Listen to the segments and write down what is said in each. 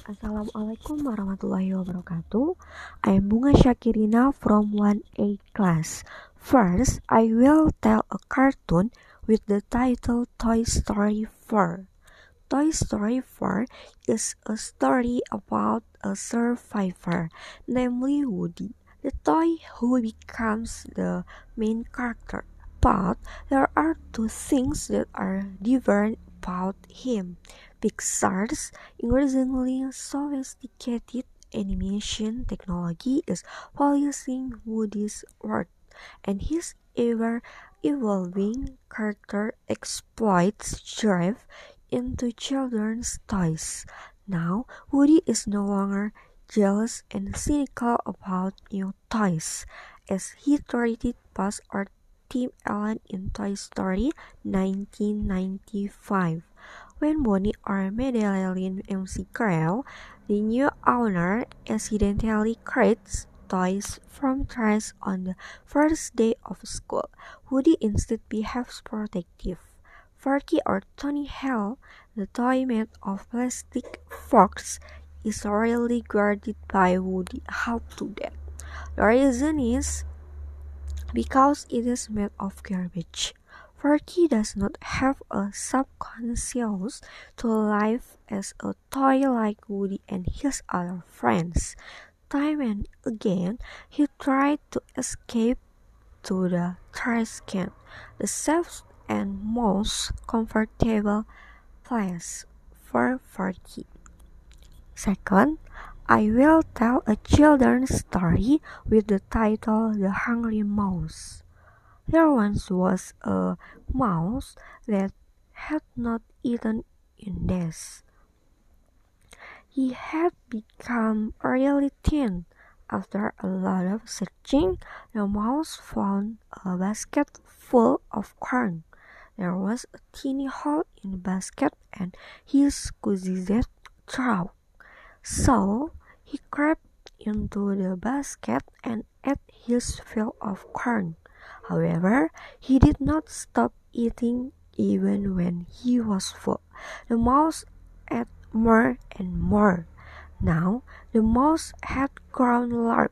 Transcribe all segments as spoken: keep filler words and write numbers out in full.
Assalamualaikum warahmatullahi wabarakatuh. I am Bunga Syakirina from one A class. First, I will tell a cartoon with the title Toy Story four. Toy Story four is a story about a survivor, namely Woody, the toy who becomes the main character. But there are two things that are different about him. Pixar's increasingly sophisticated animation technology is policing Woody's world, and his ever-evolving character exploits drive into children's toys. Now, Woody is no longer jealous and cynical about new toys, as he traded past our Tim Allen in Toy Story nineteen ninety-five. When Bonnie or Madeline McGraw, the new owner, accidentally creates toys from trash on the first day of school, Woody instead behaves protective. Forky or Tony Hell, the toy made of plastic forks, is rarely guarded by Woody. How to that? The reason is because it is made of garbage. Forky does not have a subconscious to live as a toy like Woody and his other friends. Time and again, he tried to escape to the trash can, the safest and most comfortable place for Forky. Second, I will tell a children's story with the title The Hungry Mouse. There once was a mouse that had not eaten in days. He had become really thin. After a lot of searching, the mouse found a basket full of corn. There was a tiny hole in the basket and he squeezed it through. So he crept into the basket and ate his fill of corn. However, he did not stop eating even when he was full. The mouse ate more and more. Now the mouse had grown large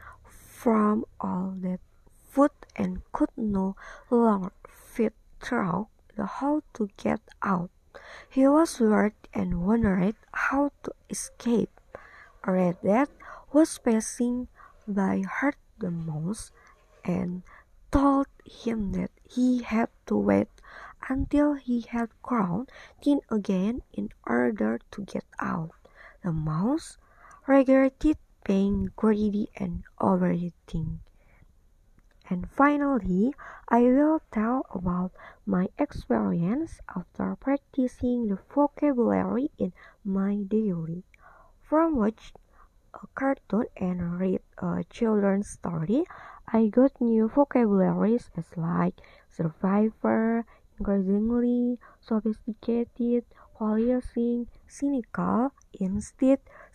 from all that food and could no longer fit through the hole to get out. He was worried and wondered how to escape. A red that was passing by heard the mouse and told him that he had to wait until he had grown thin again in order to get out. The mouse regretted being greedy and overeating. And finally, I will tell about my experience after practicing the vocabulary in my daily. From watch a cartoon and read a children's story, I got new vocabularies as like survivor, increasingly sophisticated, policing, cynical, instead,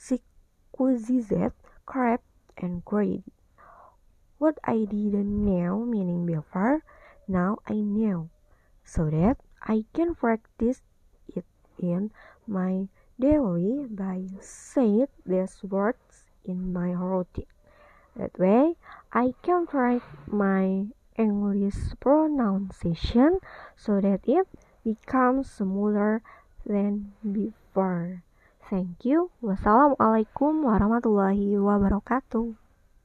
exquisite, crap, and greedy. What I didn't know meaning before, now I know, so that I can practice it in my daily by saying these words in my routine. That way, I can write my English pronunciation so that it becomes smoother than before. Thank you. Wassalamualaikum warahmatullahi wabarakatuh.